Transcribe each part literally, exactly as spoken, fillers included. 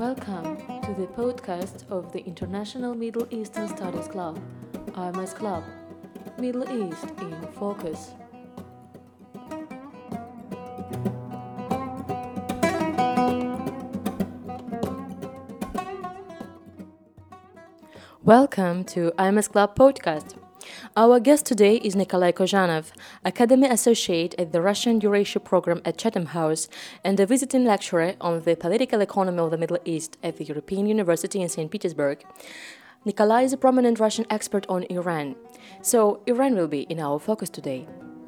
Welcome to the podcast of the International Middle Eastern Studies Club, I M S Club, Middle East in Focus. Welcome to I M S Club podcast. Our guest today is Nikolai Kozhanov, Academy Associate at the Russian Eurasia Program at Chatham House and a visiting lecturer on the political economy of the Middle East at the European University in Saint Petersburg. Nikolai is a prominent Russian expert on Iran. So Iran will be in our focus today.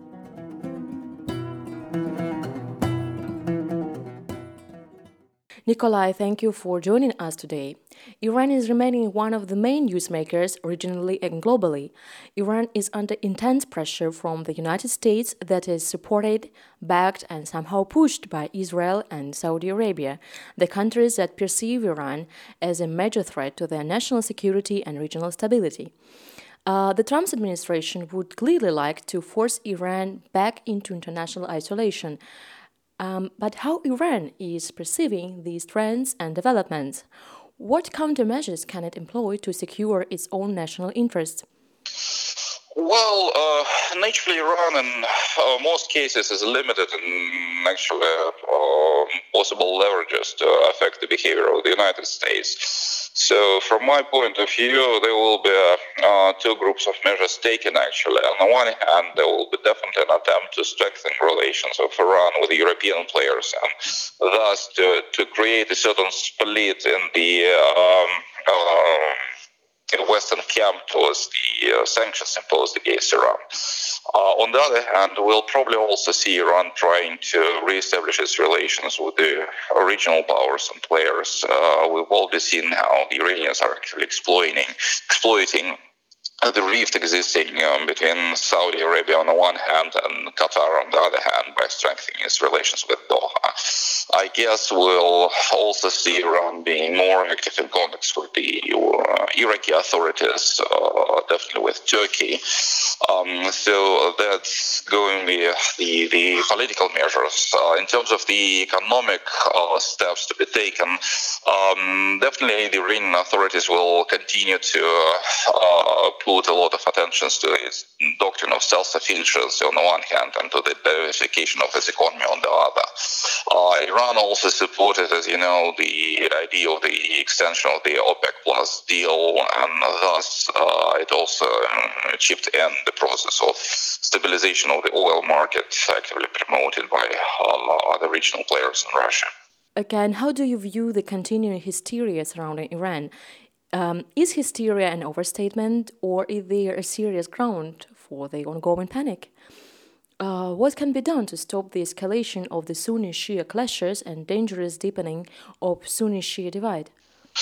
Nikolai, thank you for joining us today. Iran is remaining one of the main newsmakers regionally and globally. Iran is under intense pressure from the United States that is supported, backed, and somehow pushed by Israel and Saudi Arabia, the countries that perceive Iran as a major threat to their national security and regional stability. Uh, the Trump administration would clearly like to force Iran back into international isolation. Um, but how Iran is perceiving these trends and developments? What countermeasures can it employ to secure its own national interests? Well, uh, naturally, Iran in uh, most cases is limited in actually uh, possible leverages to affect the behavior of the United States. So, from my point of view, there will be uh, two groups of measures taken actually. On the one hand, there will be definitely an attempt to strengthen relations of Iran with the European players and thus to, to create a certain split in the um, uh, in Western camp towards the uh, sanctions imposed against Iran. Uh, on the other hand, we'll probably also see Iran trying to reestablish its relations with the regional powers and players. Uh, we've already seen how the Iranians are actually exploiting, exploiting the rift existing um, between Saudi Arabia on the one hand and Qatar on the other hand by strengthening its relations with Doha. I guess we'll also see Iran being more active in contacts with the uh, Iraqi authorities, uh, definitely with Turkey. Um, so that's going to be the, the political measures. Uh, in terms of the economic uh, steps to be taken, um, definitely the Iranian authorities will continue to uh, put a lot of attention to its doctrine of self-sufficiency on the one hand and to the diversification of its economy on the other. Uh, Iran also supported, as you know, the idea of the extension of the OPEC Plus deal, and thus uh, it also uh, chipped in the process of stabilization of the oil market, actively promoted by uh, other regional players in Russia. Again, how do you view the continuing hysteria surrounding Iran? Um, is hysteria an overstatement, or is there a serious ground for the ongoing panic? Uh, what can be done to stop the escalation of the Sunni-Shia clashes and dangerous deepening of Sunni-Shia divide?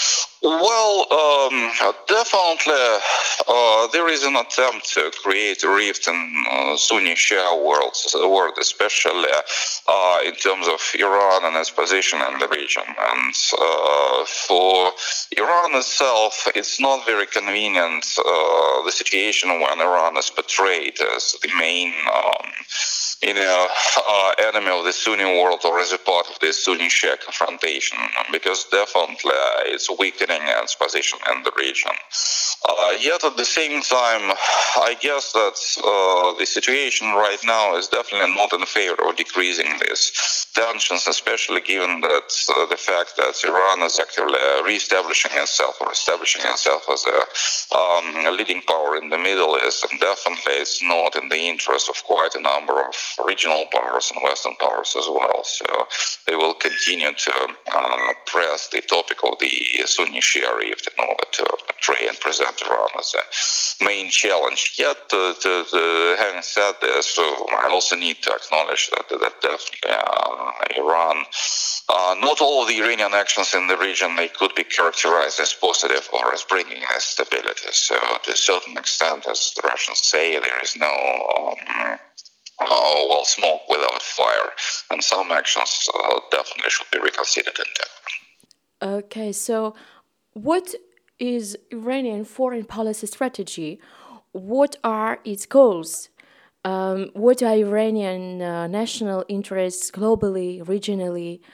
Well, um, definitely uh, there is an attempt to create a rift in uh, Sunni-Shia world, world especially uh, in terms of Iran and its position in the region. And uh, for Iran itself, it's not very convenient, uh, the situation when Iran is portrayed as the main um, you know, uh, enemy of the Sunni world or as a part of the Sunni-Shia confrontation, because definitely uh, it's weakening its position in the region. Uh, yet at the same time, I guess that uh, the situation right now is definitely not in favor of decreasing these tensions, especially given that uh, the fact that Iran is actively uh, re-establishing itself or establishing itself as a, um, a leading power in the Middle East, and definitely it's not in the interest of quite a number of regional powers and Western powers as well. So they will continue to uh, press the topic of the Sunni-Shia rift in order to portray and present Iran as a main challenge. Yet, uh, to, to, having said this, so I also need to acknowledge that, that definitely uh, Iran, uh, not all of the Iranian actions in the region, they could be characterized as positive or as bringing us stability. So to a certain extent, as the Russians say, there is no um, Oh, well, smoke without fire, and some actions uh, definitely should be reconsidered in depth. Okay, so what is Iranian foreign policy strategy? What are its goals? Um, what are Iranian uh, national interests globally, regionally?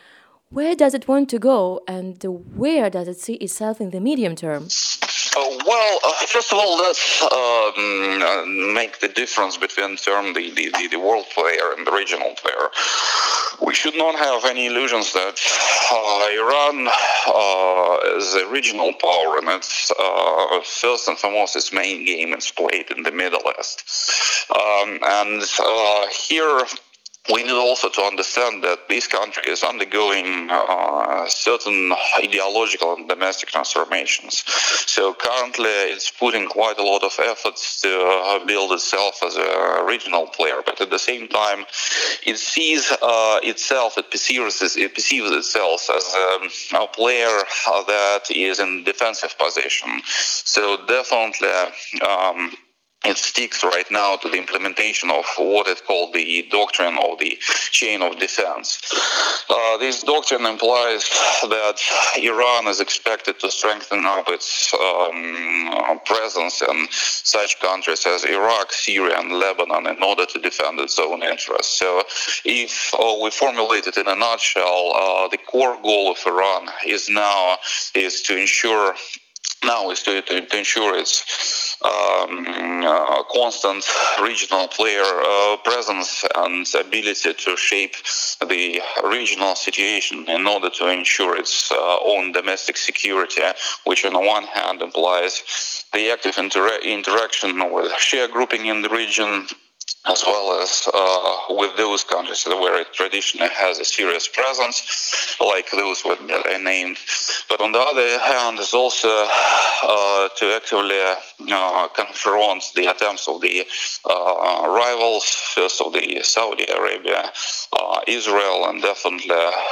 Where does it want to go, and where does it see itself in the medium term? Uh, well, uh, first of all, let's um, uh, make the difference between term the, the, the, the world player and the regional player. We should not have any illusions that uh, Iran uh, is a regional power, and it's uh, first and foremost its main game is played in the Middle East. Um, and uh, here we need also to understand that this country is undergoing uh, certain ideological and domestic transformations. So currently it's putting quite a lot of efforts to uh, build itself as a regional player, but at the same time it sees uh, itself, it perceives, it perceives itself as um, a player that is in defensive position. So definitely um, it sticks right now to the implementation of what is called the doctrine of the chain of defense. Uh, this doctrine implies that Iran is expected to strengthen up its um, presence in such countries as Iraq, Syria, and Lebanon in order to defend its own interests. So if uh, we formulate it in a nutshell, uh, the core goal of Iran is now is to ensure now is to, to, to ensure its um, uh, constant regional player uh, presence and ability to shape the regional situation in order to ensure its uh, own domestic security, which on the one hand implies the active inter- interaction with Shia grouping in the region, as well as uh, with those countries where it traditionally has a serious presence, like those that I named. But on the other hand, is also uh, to actively uh, confront the attempts of the uh, rivals, first of the Saudi Arabia, uh, Israel, and definitely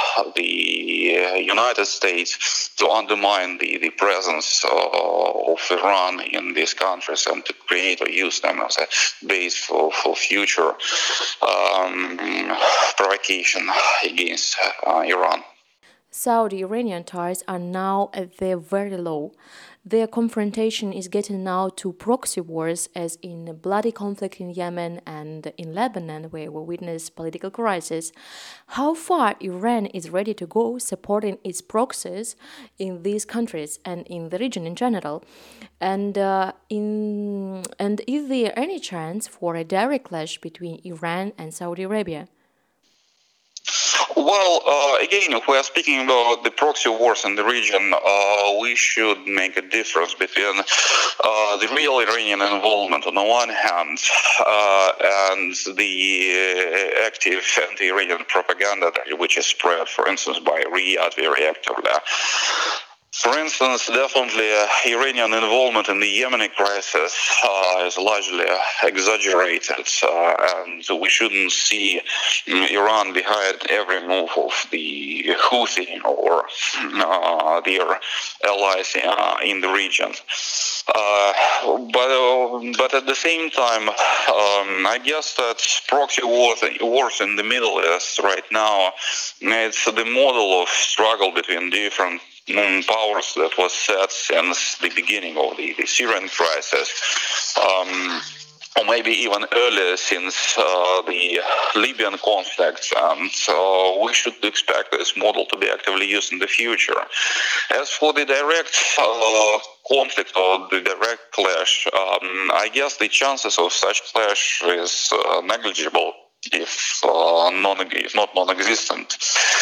the United States, to undermine the, the presence uh, of Iran in these countries and to create or use them as a base for, for future um, provocation against uh, Iran. Saudi-Iranian ties are now at their very low. Their confrontation is getting now to proxy wars, as in a bloody conflict in Yemen and in Lebanon, where we witness political crisis. How far Iran is ready to go supporting its proxies in these countries and in the region in general? And uh, in and is there any chance for a direct clash between Iran and Saudi Arabia? Well, uh, again, if we are speaking about the proxy wars in the region, uh, we should make a difference between uh, the real Iranian involvement on the one hand uh, and the uh, active anti-Iranian propaganda which is spread, for instance, by Riyadh very actively. For instance, definitely uh, Iranian involvement in the Yemeni crisis uh, is largely exaggerated, uh, and we shouldn't see um, Iran behind every move of the Houthi or uh, their allies uh, in the region. Uh, but uh, but at the same time, um, I guess that proxy wars, wars in the Middle East right now, it's the model of struggle between different powers that was set since the beginning of the, the Syrian crisis, um, or maybe even earlier, since uh, the Libyan conflict. And so we should expect this model to be actively used in the future. As for the direct uh, conflict or the direct clash, um, I guess the chances of such clash is uh, negligible, if, uh, non, if not non-existent.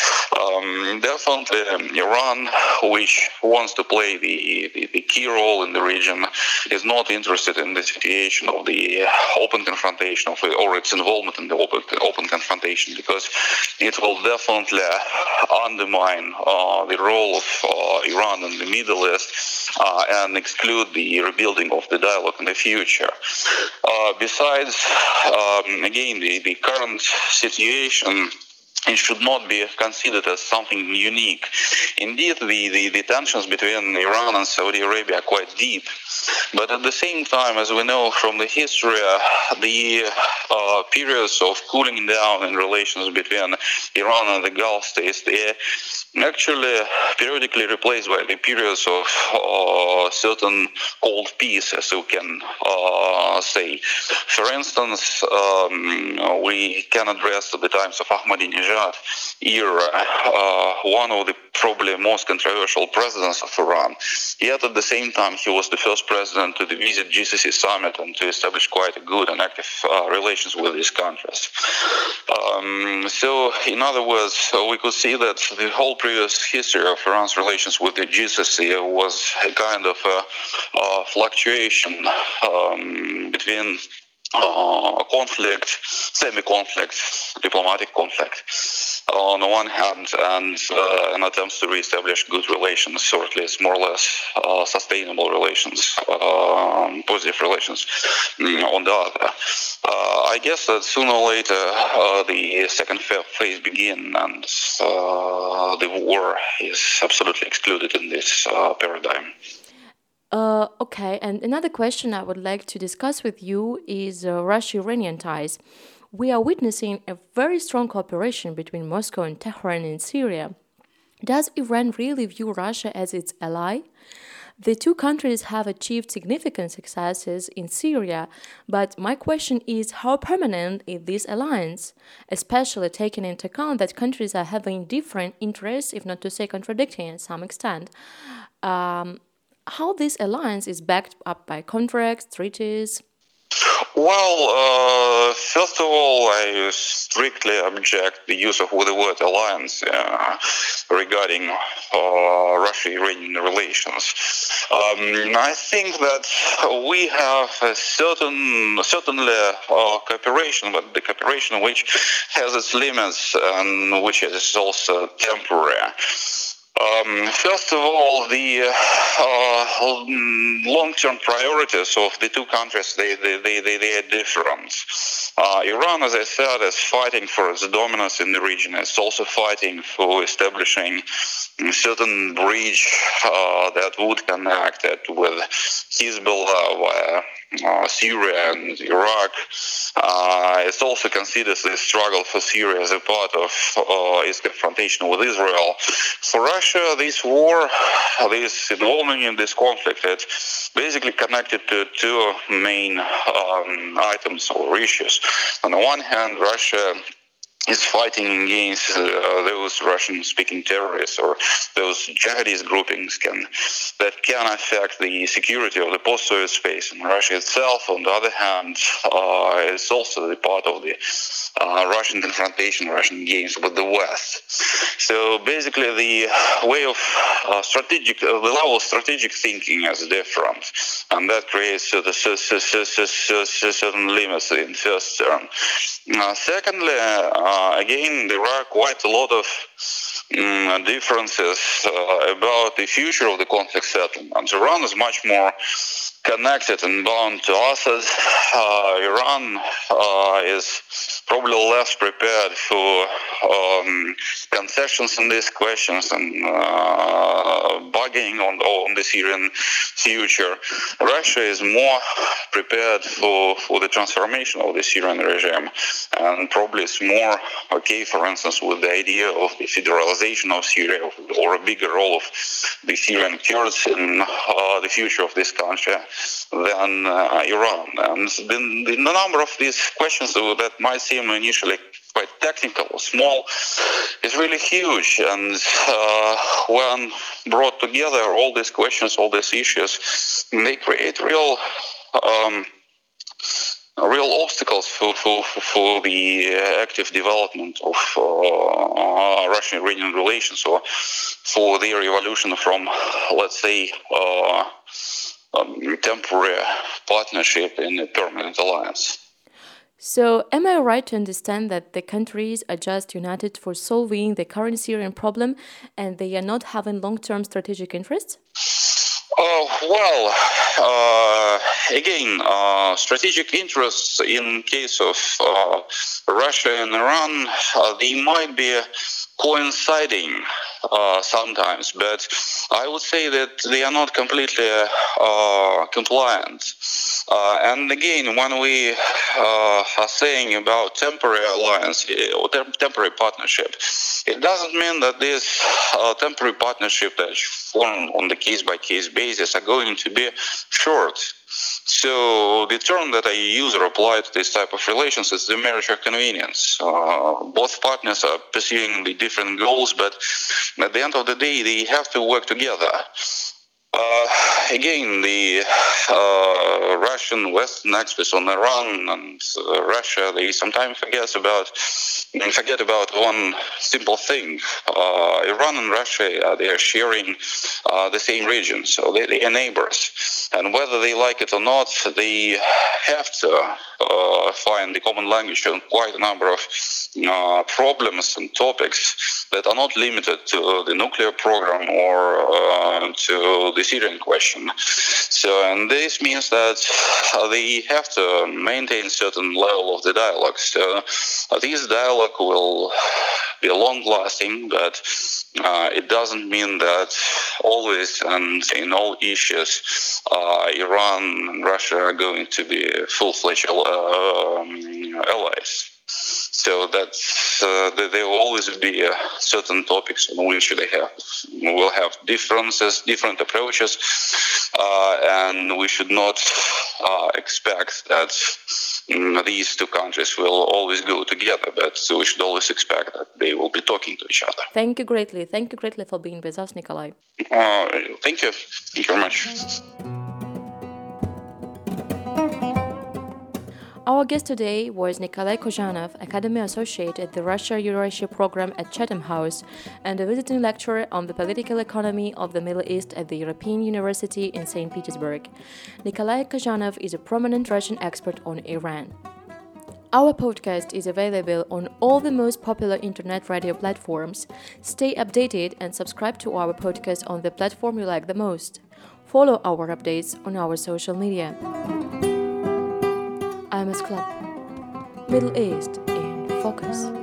Um, definitely um, Iran, which wants to play the, the, the key role in the region, is not interested in the situation of the open confrontation of, or its involvement in the open, open confrontation, because it will definitely undermine uh, the role of uh, Iran in the Middle East uh, and exclude the rebuilding of the dialogue in the future. Uh, besides, um, again, the, the current situation, it should not be considered as something unique. Indeed, the, the, the tensions between Iran and Saudi Arabia are quite deep. But at the same time, as we know from the history, uh, the uh, periods of cooling down in relations between Iran and the Gulf states, they actually periodically replaced by the periods of uh, certain cold peace, as you can uh, say. For instance, um, we can address the times of Ahmadinejad era, uh, one of the probably most controversial presidents of Iran. Yet at the same time, he was the first president to visit G C C summit and to establish quite a good and active uh, relations with these countries. Um, so, in other words, uh, we could see that the whole previous history of Iran's relations with the G C C was a kind of a, a fluctuation um, between uh, conflict, semi-conflict, diplomatic conflict on the one hand, and uh, an attempt to re-establish good relations, or at least more or less uh, sustainable relations, uh, positive relations on the other. Uh, I guess that sooner or later uh, the second phase begin, and uh, the war is absolutely excluded in this uh, paradigm. Uh, okay, and another question I would like to discuss with you is uh, Russia-Iranian ties. We are witnessing a very strong cooperation between Moscow and Tehran in Syria. Does Iran really view Russia as its ally? The two countries have achieved significant successes in Syria, but my question is how permanent is this alliance, especially taking into account that countries are having different interests, if not to say contradicting to some extent. Um, how this alliance is backed up by contracts, treaties? Well, uh, first of all, I strictly object the use of the word alliance uh, regarding uh, Russia-Iranian relations. Um, I think that we have a certain, certainly uh, cooperation, but the cooperation which has its limits and which is also temporary. Um, first of all, the uh, long-term priorities of the two countries, they, they, they, they, they are different. Uh, Iran, as I said, is fighting for its dominance in the region. It's also fighting for establishing a certain bridge uh, that would connect it with Hezbollah via uh, Syria and Iraq. Uh, it also considers the struggle for Syria as a part of uh, its confrontation with Israel. For Russia, this war, this involvement in this conflict, it's basically connected to two main um, items or issues. On the one hand, Russia is fighting against uh, those Russian-speaking terrorists or those jihadist groupings can, that can affect the security of the post-Soviet space. And Russia itself, on the other hand, uh, is also the part of the uh, Russian confrontation, Russian games with the West. So basically, the way of uh, strategic, uh, the level of strategic thinking is different, and that creates uh, the certain limits in first term. Uh, secondly, uh, again, there are quite a lot of um, differences uh, about the future of the conflict settlement. Iran is much more connected and bound to Assad. Uh, Iran uh, is probably less prepared for um, concessions in these questions and uh, bargaining on, on the Syrian future. Russia is more prepared for, for the transformation of the Syrian regime, and probably is more okay, for instance, with the idea of the federalization of Syria or a bigger role of the Syrian Kurds in uh, the future of this country than uh, Iran. And the, the number of these questions that might seem initially quite technical or small is really huge. And uh, when brought together, all these questions, all these issues, they create real um, real obstacles for, for, for the active development of uh, Russian-Iranian relations, or for their evolution from, let's say, uh, um, temporary partnership in a permanent alliance. So, am I right to understand that the countries are just united for solving the current Syrian problem and they are not having long-term strategic interests? Uh, well, uh, again, uh, strategic interests in case of uh, Russia and Iran, uh, they might be coinciding uh, sometimes, but I would say that they are not completely uh, compliant. Uh, and again, when we uh, are saying about temporary alliance or tem- temporary partnership, it doesn't mean that this uh, temporary partnership that form on the case-by-case basis are going to be short. So the term that I use or apply to this type of relations is the marriage of convenience. Uh, both partners are pursuing the different goals, but at the end of the day, they have to work together. Uh, again, the uh, Russian Western experts on Iran and uh, Russia, they sometimes forget about forget about one simple thing. Uh, Iran and Russia, uh, they are sharing uh, the same region, so they, they are neighbors. And whether they like it or not, they have to uh, find the common language on quite a number of uh, problems and topics that are not limited to the nuclear program or uh, to the Syrian question. So, and this means that uh, they have to maintain certain level of the dialogue. So, uh, this dialogue will be long-lasting, but uh, it doesn't mean that always and in all issues, uh, Iran and Russia are going to be full-fledged uh, um, allies. So that uh, there will always be uh, certain topics on which they have will have differences, different approaches, uh, and we should not uh, expect that um, these two countries will always go together. But so we should always expect that they will be talking to each other. Thank you greatly. Thank you greatly for being with us, Nikolai. Uh, thank you. Thank you very much. Our guest today was Nikolai Kozhanov, Academy Associate at the Russia-Eurasia program at Chatham House and a visiting lecturer on the political economy of the Middle East at the European University in Saint Petersburg. Nikolai Kozhanov is a prominent Russian expert on Iran. Our podcast is available on all the most popular internet radio platforms. Stay updated and subscribe to our podcast on the platform you like the most. Follow our updates on our social media. I M S Club, Middle East in Focus.